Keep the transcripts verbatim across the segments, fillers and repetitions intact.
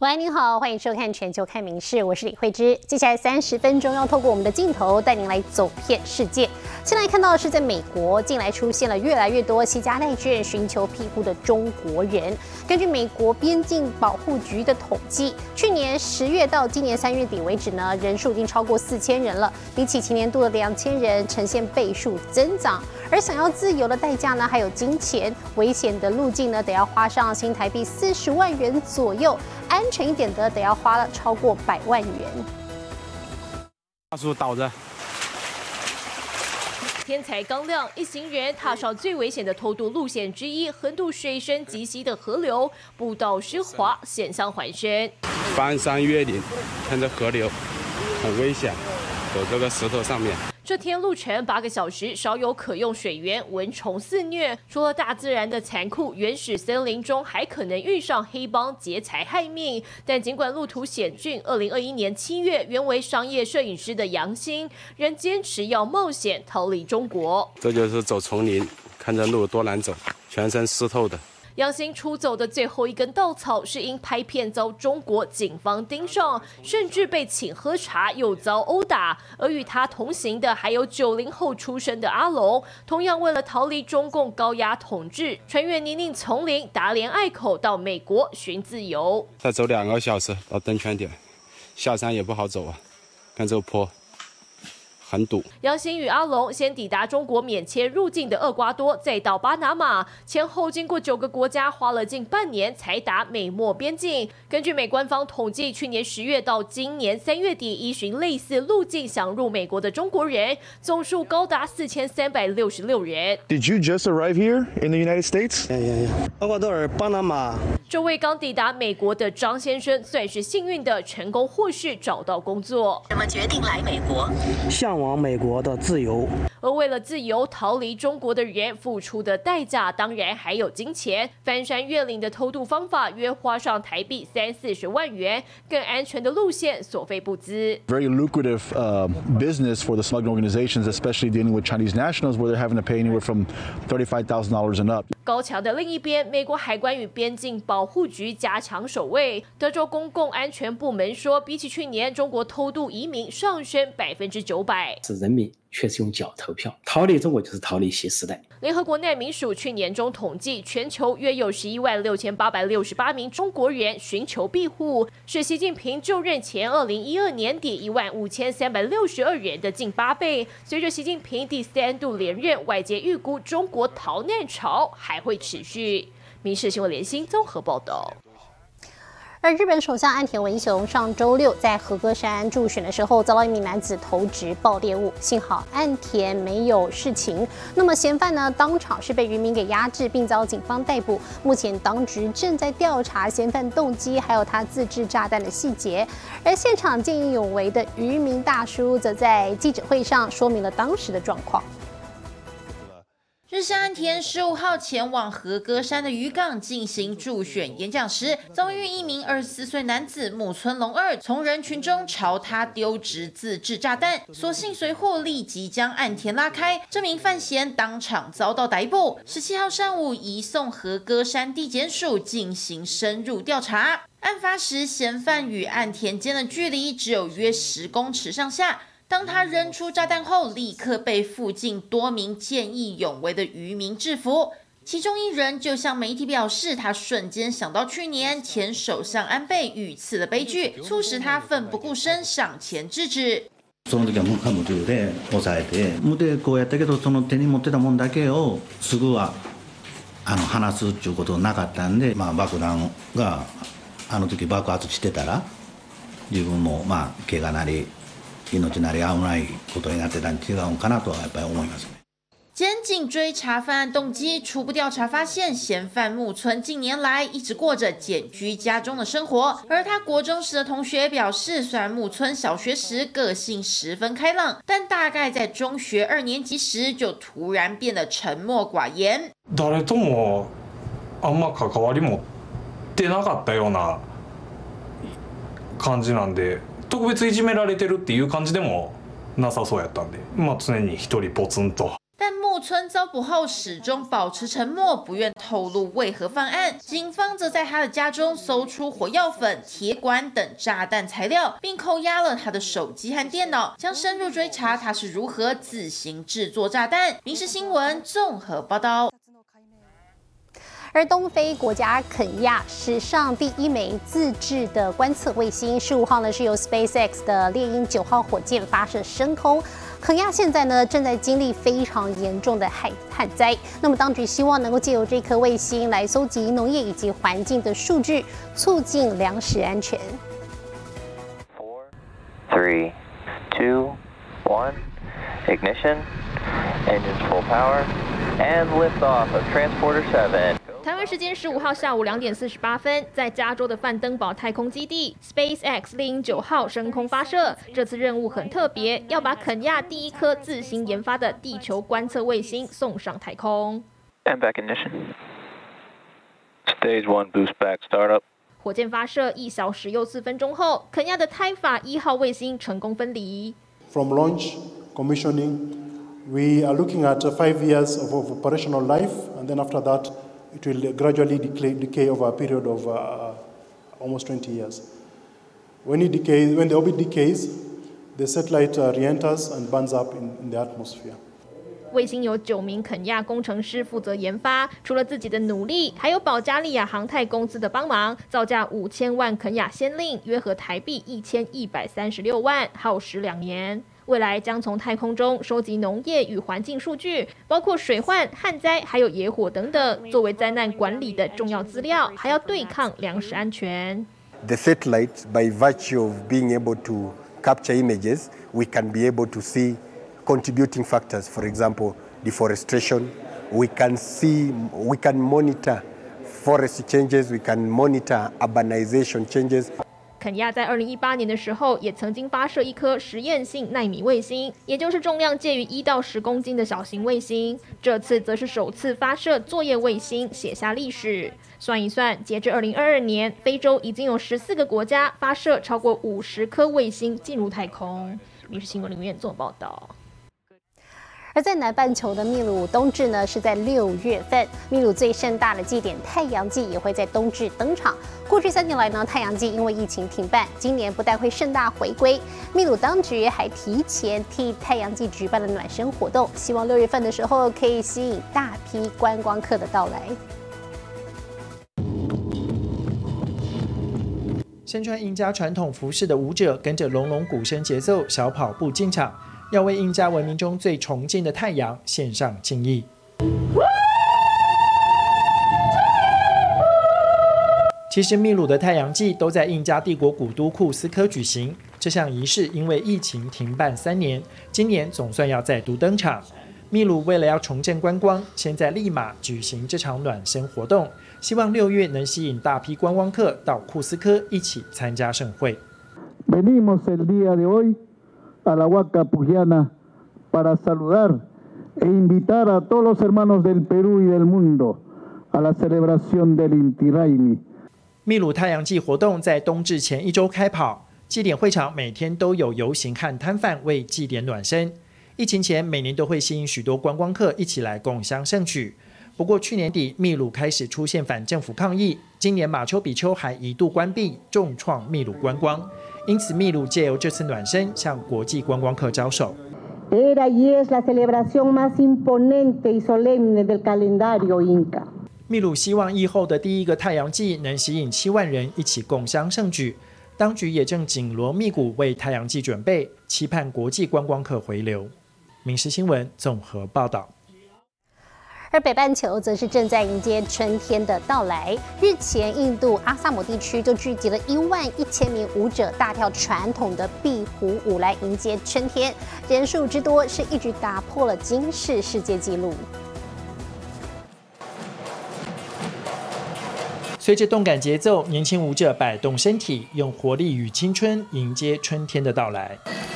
喂，您好，欢迎收看《全球看名事》，我是李慧芝。接下来三十分钟要透过我们的镜头带您来走遍世界。先来看到的是，在美国近来出现了越来越多携家带眷寻求庇护的中国人。根据美国边境保护局的统计，去年十月到今年三月底为止呢，人数已经超过四千人了，比起前年度的两千人，呈现倍数增长。而想要自由的代价呢，还有金钱，危险的路径呢，得要花上新台币四十万元左右。安全一点的，得要花了超过百万元。 大树倒着。 天才刚亮，一行人踏上最危险的偷渡路线之一，横渡水深及膝的河流，步道湿滑，险象环生。 翻山越岭，看着河流，很危险，走这个石头上面。 这天路程八个小时，少有可用水源，蚊虫肆虐。除了大自然的残酷，原始森林中还可能遇上黑帮劫财害命。但尽管路途险峻，二零二一年七月，原为商业摄影师的杨兴，仍坚持要冒险逃离中国。 这就是走丛林，看着路多难走，全身湿透的。 杨兴出走的最后一根稻草，是因拍片遭中国警方盯上，甚至被请喝茶，又遭殴打。而与他同行的还有九零后出生的阿龙，同样为了逃离中共高压统治，穿越泥泞丛林、达连隘口到美国寻自由。 再走两个小时到登泉点，下山也不好走啊，看这个坡。很堵。 杨兴与阿龙先抵达中国免签入境的厄瓜多，再到巴拿马，前后经过九个国家，花了近半年才达美墨边境。根据美官方统计，去年十月到今年三月底，依循类似路径想入美国的中国人总数高达四千三百六十六人。 Did you just arrive here in the United States? Yeah, yeah, yeah. 厄瓜多尔、巴拿马。 这位刚抵达美国的张先生算是幸运的，成功获释找到工作。 怎么决定来美国？ 向往美国的自由。 而为了自由逃离中国的人付出的代价，当然还有金钱。翻山越岭的偷渡方法约花上台币三四十万元，更安全的路线所费不赀。 Very lucrative uh, business for the smuggling organizations, especially dealing with Chinese nationals, where they're having to pay anywhere from thirty-five thousand dollars and up. 高墙的另一边，美国海关与边境保护局加强守卫。德州公共安全部门说，比起去年，中国偷渡移民上升百分之九百。 是人民却是用脚投票，逃离中国就是逃离新时代。 联合国难民署去年中统计，全球约有十一万六千八百六十八名中国人寻求庇护，是习近平就任前二零一二年底一万五千三百六十二人的近八倍。随着习近平第三度连任，外界预估中国逃难潮还会持续。民视新闻联新综合报道。 而日本首相岸田文雄上周六在和歌山助选的时候，遭到一名男子投掷爆裂物，幸好岸田没有事情。那么嫌犯呢，当场是被渔民给压制，并遭警方逮捕。目前当局正在调查嫌犯动机，还有他自制炸弹的细节。而现场见义勇为的渔民大叔，则在记者会上说明了当时的状况。 日向岸田十五号前往和歌山的渔港进行助选演讲时，遭遇一名二十四岁男子木村隆二从人群中朝他丢掷自制炸弹，所幸随后立即将岸田拉开，这名犯嫌当场遭到逮捕。十七号上午移送和歌山地检署进行深入调查。案发时，嫌犯与岸田间的距离只有约十公尺上下。当他扔出炸弹后，立刻被附近多名见义勇为的渔民制服。其中一人就向媒体表示，他瞬間想到去年前首相安倍遇刺的悲劇，促使他奮不顧身上前制止。 その時は無我夢中で抑えて、無でこうやったけど、その手に持ってたもんだけをすぐはあの離すっていうことなかったんで、まあ爆弾があの時爆発してたら、自分もまあ怪我なり。命なり危ないことになってたん違うかなとはやっぱり思いますね。 检警追查犯案动机，初步调查发现，嫌犯木村近年来一直过着简居家中的生活。而他国中时的同学表示，虽然木村小学时个性十分开朗，但大概在中学二年级时就突然变得沉默寡言。 誰ともあんま関わり持ってなかったような感じなんで。特別いじめられてるっていう感じでもなさそうやったんで、まあ常に一人ポツンと。 但木村遭捕后始终保持沉默，不愿透露为何犯案。警方则在他的家中搜出火药粉、铁管等炸弹材料，并扣押了他的手机和电脑，将深入追查他是如何自行制作炸弹。民视新闻综合报道。 而东非国家肯亚史上第一枚自制的观测卫星，十五号呢是由 SpaceX 的猎鹰九号火箭发射升空。肯亚现在呢正在经历非常严重的旱旱灾，那么当局希望能够借由这颗卫星来搜集农业以及环境的数据，促进粮食安全。 Four, three, two, one, ignition, engines full power, and liftoff of Transporter seven. 台湾时间十五号下午两点四十八分，在加州的范登堡太空基地 ，SpaceX 猎鹰九号升空发射。这次任务很特别，要把肯亚第一颗自行研发的地球观测卫星送上太空。 And back ignition. Stage one boost back startup. 火箭发射一小时又四分钟后，肯亚的泰法一号卫星成功分离。 From launch, commissioning, we are looking at five years of, of operational life, and then after that. It will gradually decay, decay over a period of uh, almost twenty years. When it decays, when the orbit decays, the satellite uh, re-enters and burns up in, in the atmosphere. 卫星由九名肯亚工程师负责研发，除了自己的努力，还有保加利亚航太公司的帮忙，造价五千万肯亚先令，约合台币一千一百三十六万，耗时两年。未来将从太空中收集农业与环境数据，包括水患、旱灾，还有野火等等，作为灾难管理的重要资料，还要对抗粮食安全。 The satellite, by virtue of being able to capture images, we can be able to see contributing factors. For example, deforestation. We can see, we can monitor forest changes. We can monitor urbanization changes. 肯亚在二零一八年的时候，也曾经发射一颗实验性奈米卫星，也就是重量介于一到十公斤的小型卫星。这次则是首次发射作业卫星，写下历史。算一算，截至二零二二年，非洲已经有十四个国家发射超过五十颗卫星进入太空。民视新闻林苑做报道。 而在南半球的秘鲁冬至呢，是在六月份。秘鲁最盛大的祭典太阳祭也会在冬至登场。过去三年来呢，太阳祭因为疫情停办，今年不但会盛大回归，秘鲁当局还提前替太阳祭举办了暖身活动，希望六月份的时候可以吸引大批观光客的到来。 身穿印加传统服饰的舞者跟着隆隆鼓声节奏小跑步进场。要为印加文明中最崇敬的太阳献上敬意。其实秘鲁的太阳祭都在印加帝国古都库斯科举行，这项仪式因为疫情停办三年，今年总算要再度登场。秘鲁为了要重振观光，现在立马举行这场暖身活动，希望六月能吸引大批观光客到库斯科一起参加盛会。 Venimos el día de hoy a la Huaca Pujiana para saludar e invitar a todos los hermanos del Perú y del mundo a la celebración del Inti Raymi。 秘鲁太阳祭活动在冬至前一周开跑，祭典会场每天都有游行和摊贩为祭典暖身。疫情前每年都会吸引许多观光客一起来共襄盛举。不过去年底秘鲁开始出现反政府抗议，今年马丘比丘还一度关闭，重创秘鲁观光。因此，秘鲁借由这次暖身向国际观光客招手。 Era y es la celebración más imponente y solemne del calendario inca。 秘鲁希望疫后的第一个太阳祭能吸引七万人一起共襄盛举，当局也正紧锣密鼓为太阳祭准备，期盼国际观光客回流。民视新闻综合报道。 而北半球则是正在迎接春天的到来。日前，印度阿萨姆地区就聚集了一万一千名舞者，大跳传统的壁虎舞来迎接春天，人数之多是一举打破了金氏世界纪录。 随着动感节奏，年轻舞者摆动身体，用活力与青春迎接春天的到来。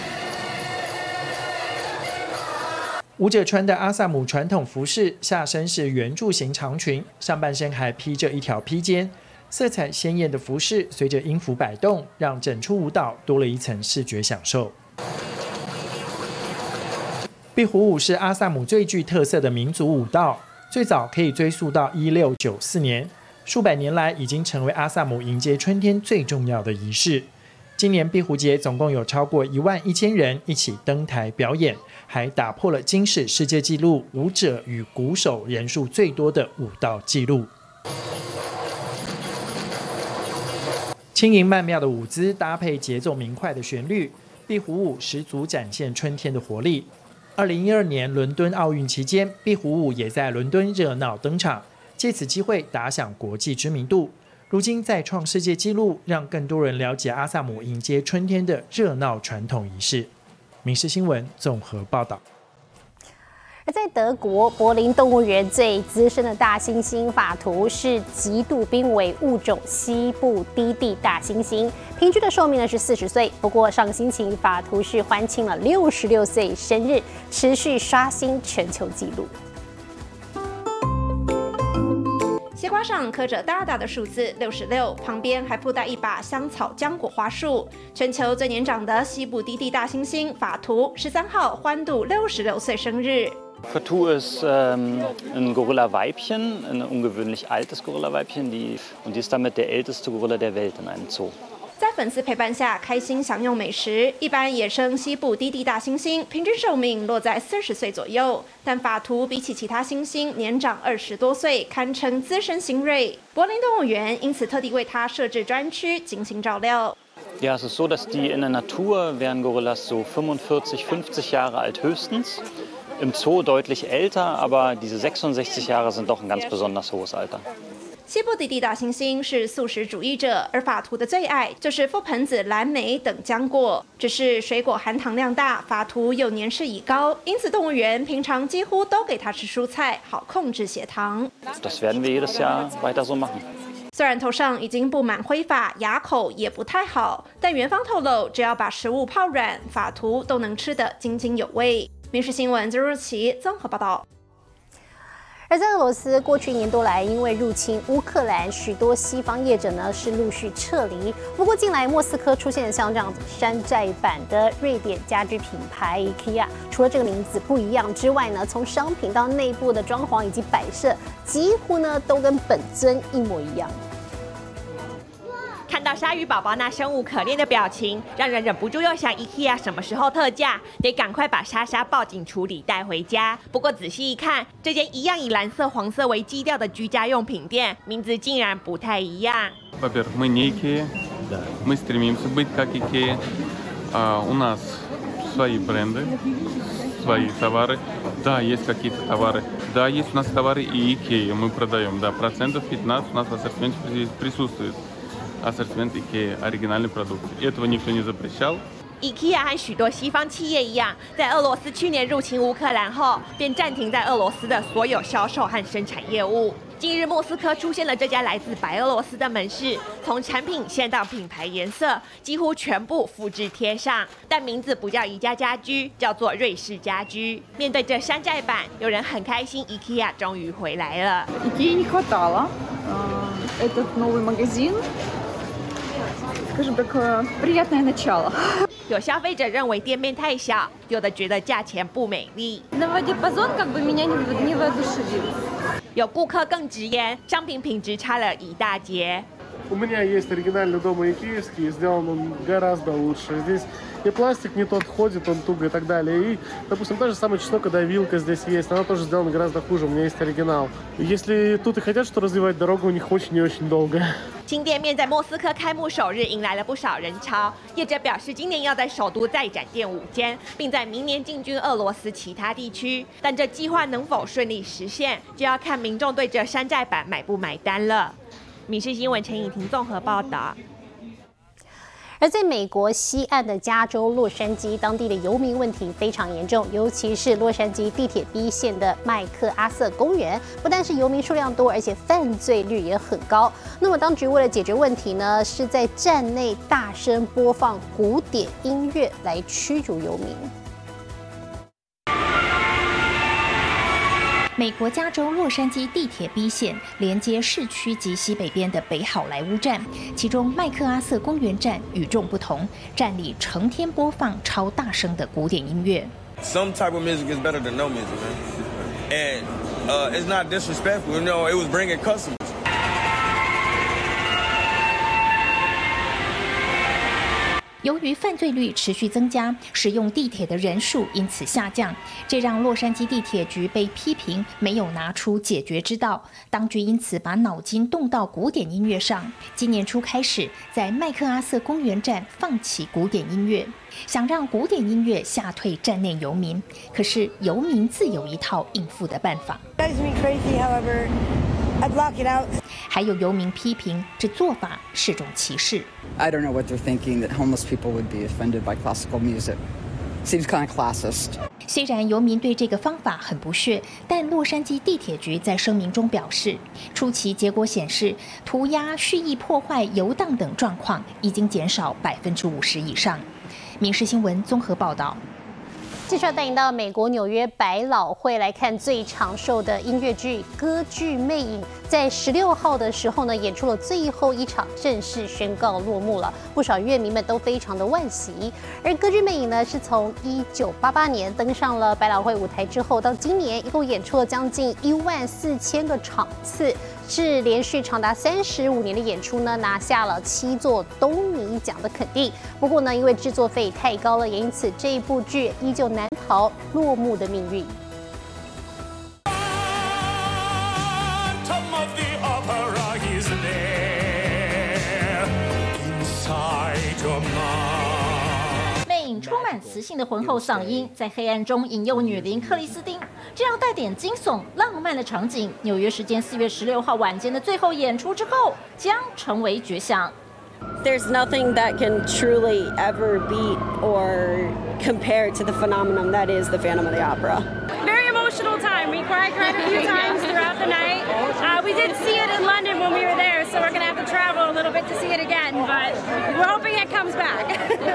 舞者穿的阿萨姆传统服饰，下身是圆柱形长裙，上半身还披着一条披肩。色彩鲜艳的服饰随着音符摆动，让整出舞蹈多了一层视觉享受。 壁虎舞是阿萨姆最具特色的民族舞蹈，最早可以追溯到一六九四年，数百年来已经成为阿萨姆迎接春天最重要的仪式。今年壁虎节总共有超过一万一千人一起登台表演，还打破了金氏世界纪录舞者与鼓手人数最多的舞蹈纪录。轻盈曼妙的舞姿搭配节奏明快的旋律，壁虎舞十足展现春天的活力。二零一二年伦敦奥运期间，壁虎舞也在伦敦热闹登场，借此机会打响国际知名度。如今再创世界纪录，让更多人了解阿萨姆迎接春天的热闹传统仪式。民视新闻综合报道。 而在德国柏林动物园最资深的大猩猩法图是极度濒危物种西部低地大猩猩，平均的寿命呢是四十岁。不过上星期法图是欢庆了六十六岁生日，持续刷新全球纪录。 西瓜上刻着大大的数字六十六，旁边还附带一把香草浆果花束。全球最年长的西部低地大猩猩法图十三号欢度六十六岁生日。 Fatou ist ähm, ein Gorilla-Weibchen, ein ungewöhnlich altes Gorilla-Weibchen, die, und die ist damit der älteste Gorilla der Welt in einem Zoo. 在粉丝陪伴下，开心享用美食。一般野生西部低地大猩猩平均寿命落在四十岁左右，但法图比起其他猩猩年长二十多岁，堪称资深新锐。柏林动物园因此特地为它设置专区进行照料。 Ja, es ist so, dass die in der Natur wären Gorillas so fünfundvierzig, fünfzig Jahre alt höchstens. Im Zoo deutlich älter, aber diese sechsundsechzig Jahre sind doch ein ganz besonders hohes Alter. 西部低地大猩猩是素食主义者，而法图的最爱就是覆盆子、蓝莓等浆果。只是水果含糖量大，法图又年事已高，因此动物园平常几乎都给它吃蔬菜，好控制血糖。 Das werden wir jedes Jahr weiter so machen. 虽然头上已经布满灰发，牙口也不太好，但园方透露，只要把食物泡软，法图都能吃得津津有味。民视新闻周若琪综合报道。 而在俄罗斯，过去一年多来，因为入侵乌克兰，许多西方业者呢是陆续撤离。不过，近来莫斯科出现了像这样子山寨版的瑞典家居品牌 IKEA， 除了这个名字不一样之外呢，从商品到内部的装潢以及摆设，几乎呢都跟本尊一模一样。 看到鲨鱼宝宝那生无可恋的表情，让人忍不住又想 IKEA 什么时候特价，得赶快把莎莎报警处理带回家。不过仔细一看，这间一样以蓝色、黄色为基调的居家用品店，名字竟然不太一样。 Во-первых, мы не IKEA, мы стремимся быть как IKEA. У нас свои бренды, свои товары. Да, есть какие-то товары. Да, есть у нас товары и IKEA мы продаем. Да, процентов пятнадцать у нас в ассортименте присутствует. Ассортимент IKEA, оригинальный продукт. Этого никто не запрещал. IKEA 和许多西方企业一样，在俄罗斯去年入侵乌克兰后，便暂停在俄罗斯的所有销售和生产业务。近日，莫斯科出现了这家来自白俄罗斯的门市，从产品线到品牌颜色，几乎全部复制贴上，但名字不叫宜家家居，叫做瑞士家居。面对这山寨版，有人很开心 ，IKEA 终于回来了。 IKEA не хватало. Этот новый магазин. Скажем так, приятное начало. 有消费者认为店面太小，有的觉得价钱不美丽。 Новый диапазон как бы меня не воодушевил. 有顾客更直言，商品品质差了一大截。 У меня есть оригинальный дом икеевский, сделан он гораздо лучше. Здесь и пластик не тот ходит, он туго и так далее. И, допустим, та же самая чеснокая вилка здесь есть, она тоже сделана гораздо хуже, у меня есть оригинал. Если тут и хотят что развивать, дорога у них очень и очень долгая. 新店面在莫斯科开幕首日迎来了不少人潮，业者表示今年要在首都再展店五间，并在明年进军俄罗斯其他地区。但这计划能否顺利实现，就要看民众对这山寨版买不买单了。民视新闻陈颖婷综合报道。 而在美国西岸的加州洛杉矶，当地的游民问题非常严重，尤其是洛杉矶地铁 B 线的麦克阿瑟公园，不但是游民数量多，而且犯罪率也很高。那么当局为了解决问题呢，是在站内大声播放古典音乐来驱逐游民。 美国加州洛杉矶地铁 B 线连接市区及西北边的北好莱坞站，其中麦克阿瑟公园站与众不同，站里成天播放超大声的古典音乐。 Some type of music is better than no music, man. And uh, it's not disrespectful. You know, it was bringing customers. 由于犯罪率持续增加，使用地铁的人数因此下降，这让洛杉矶地铁局被批评没有拿出解决之道。当局因此把脑筋动到古典音乐上，今年初开始在麦克阿瑟公园站放弃古典音乐，想让古典音乐吓退站内游民。可是游民自有一套应付的办法。 That is me crazy, however, I block it out. 还有游民批评这做法是种歧视。 I don't know what they're thinking that homeless people would be offended by classical music. Seems kind of classist. 虽然游民对这个方法很不屑，但洛杉矶地铁局在声明中表示，初期结果显示，涂鸦、蓄意破坏游荡等状况已经减少百分之五十以上。民事新闻综合报道。 继续要带您到美国纽约百老汇来看最长寿的音乐剧《歌剧魅影》，在十六号的时候呢，演出了最后一场，正式宣告落幕了。不少乐迷们都非常的惋惜。而《歌剧魅影》呢，是从一九八八年登上了百老汇舞台之后，到今年一共演出了将近一万四千个场次，是连续长达三十五年的演出呢，拿下了七座东尼奖的肯定。不过呢，因为制作费太高了，也因此这一部剧依旧难逃落幕的命运。 魅影充满磁性的浑厚嗓音，在黑暗中引诱女灵克里斯汀，这样带点惊悚、浪漫的场景，纽约时间四月十六号晚间的最后演出之后，将成为绝响。 There's nothing that can truly ever beat or compare to the phenomenon that is the Phantom of the Opera. Very emotional time. We cried, cried a few times throughout the night. Uh, we did see it in London when we were there, so we're going to have to travel a little bit to see it again, but we're hoping it comes back.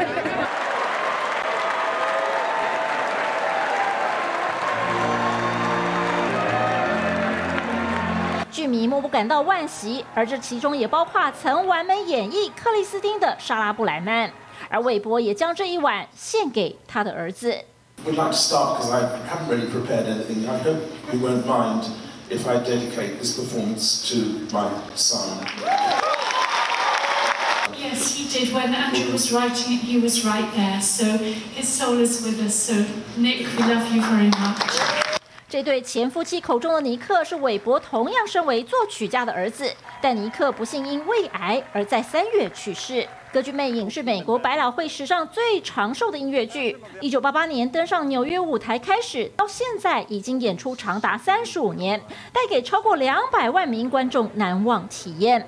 剧迷莫不感到惋惜，而这其中也包括曾完美演绎克里斯汀的莎拉布莱曼，而韦伯也将这一晚献给他的儿子。 We'd like to start because I haven't really prepared anything. I hope you won't mind if I dedicate this performance to my son. Yes, he did. When Andrew was writing it, he was right there. So his soul is with us. So Nick, we love you very much. 这对前夫妻口中的尼克是韦伯同样身为作曲家的儿子，但尼克不幸因胃癌而在三月去世。歌剧《魅影》是美国百老汇史上最长寿的音乐剧，一九八八年登上纽约舞台开始，到现在已经演出长达三十五年，带给超过两百万名观众难忘体验。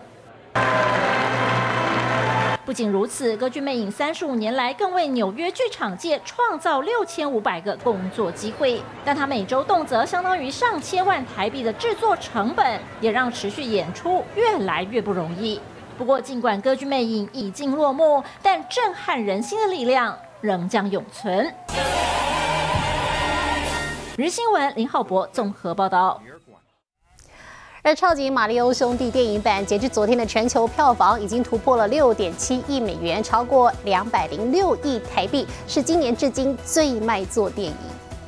不仅如此，歌剧《魅影》三十五年来更为纽约剧场界创造六千五百个工作机会，但它每周动辄相当于上千万台币的制作成本，也让持续演出越来越不容易。不过，尽管歌剧《魅影》已经落幕，但震撼人心的力量仍将永存。日新闻林浩博综合报道。 而超级马里欧兄弟电影版截至昨天的全球票房已经突破了六点七亿美元，超过两百零六亿台币，是今年至今最卖座电影。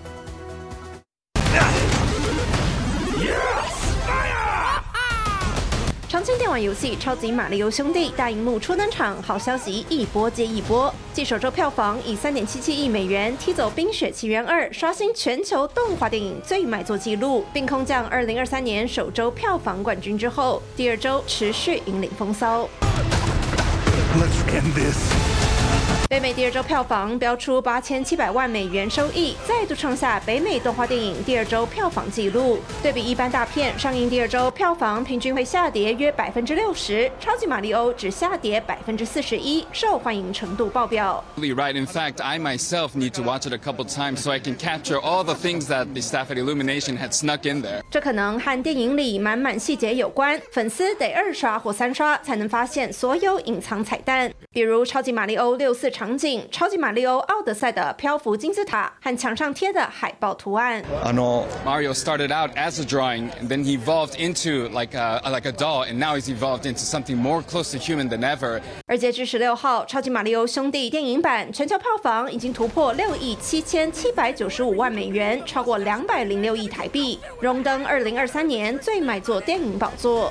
常青电玩游戏《超级马里奥兄弟》大荧幕初登场，好消息一波接一波。继首周票房以三点七七亿美元踢走《冰雪奇缘二》，刷新全球动画电影最卖座纪录，并空降二零二三年首周票房冠军之后，第二周持续引领风骚。Let's end this. 北美第二周票房标出八千七百万美元收益，再度创下北美动画电影第二周票房纪录。对比一般大片，上映第二周票房平均会下跌约百分之六十，超级马里欧只下跌百分之四十一，受欢迎程度爆表。 Right, in fact, I myself need to watch it a couple times so I can capture all the things that the staff at Illumination had snuck in there. 这可能和电影里满满细节有关，粉丝得二刷或三刷才能发现所有隐藏彩蛋，比如超级马里欧六四似场景，超级马里奥奥德赛的漂浮金字塔和墙上贴的海报图案。 Mario started out as a drawing, and then he evolved into like a like a doll, and now he's evolved into something more close to human than ever. 而截至十六号，超级马里奥兄弟电影版全球票房已经突破六亿七千七百九十五万美元，超过两百零六亿台币，荣登二零二三年最卖座电影宝座。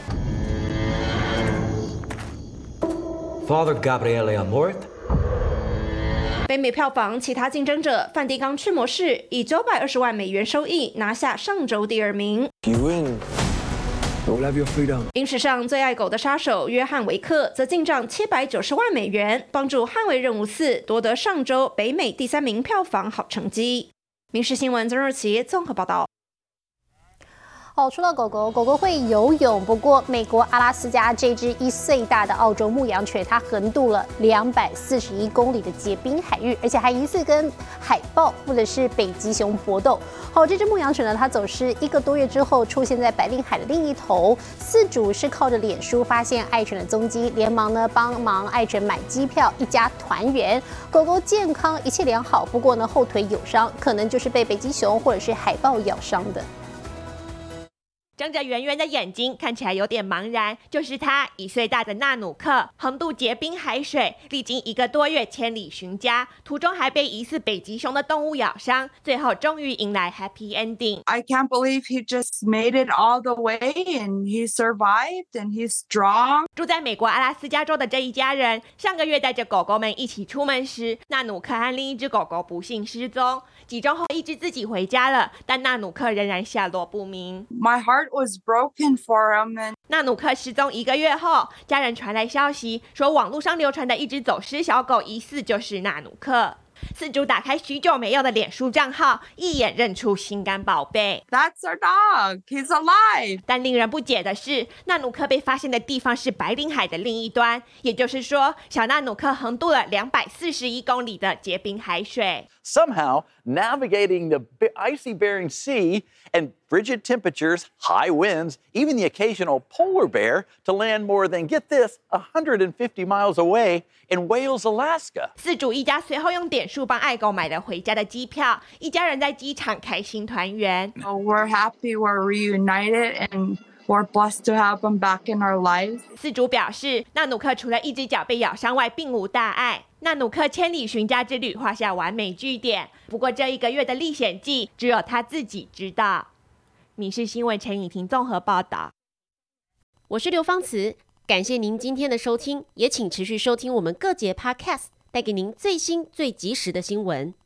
Father Gabriele Amorth。 北美票房其他竞争者梵蒂冈驱魔士以九百二十万美元收益拿下上周第二名。 You win. You'll have your freedom. 影史上最爱狗的杀手约翰维克则进账七百九十万美元，帮助《捍卫任务四》夺得上周北美第三名票房好成绩。民事新闻曾若琪综合报道。 哦，说到狗狗，狗狗会游泳，不过美国阿拉斯加这只一岁大的澳洲牧羊犬，它横渡了两百四十一公里的结冰海域，而且还疑似跟海豹或者是北极熊搏斗。好，这只牧羊犬呢，它走失一个多月之后，出现在白令海的另一头。饲主是靠着脸书发现爱犬的踪迹，连忙呢帮忙爱犬买机票，一家团圆。狗狗健康，一切良好，不过呢后腿有伤，可能就是被北极熊或者是海豹咬伤的。 睁着圆圆的眼睛，看起来有点茫然，就是他一岁大的纳努克，横渡结冰海水，历经一个多月千里寻家，途中还被疑似北极熊的动物咬伤，最后终于迎来 happy ending。 I can't believe he just made it all the way and he survived and he's strong。 住在美国阿拉斯加州的这一家人，上个月带着狗狗们一起出门时，纳努克和另一只狗狗不幸失踪。几周后，一只自己回家了，但纳努克仍然下落不明。 My heart was broken for him and 纳努克失踪一个月后，家人传来消息说，网络上流传的一只走失小狗疑似就是纳努克。饲主打开许久没用的脸书账号，一眼认出心肝宝贝。 That's our dog. He's alive. 但令人不解的是，纳努克被发现的地方是白令海的另一端，也就是说，小纳努克横渡了两百四十一公里的结冰海水。 Somehow, navigating the icy Bering Sea and frigid temperatures, high winds, even the occasional polar bear to land more than, get this, one hundred fifty miles away in Wales, Alaska. 饲主一家随后用点数帮爱狗买了回家的机票，一家人在机场开心团圆。 Oh, we're happy we're reunited and we're blessed to have him back in our lives. 饲主表示，纳努克除了一只脚被咬伤外，并无大碍。纳努克千里寻家之旅画下完美句点。不过这一个月的历险记，只有他自己知道。民视新闻陈以婷综合报道。 我是刘芳慈，感谢您今天的收听，也请持续收听我们各节 Podcast， 带给您最新最及时的新闻。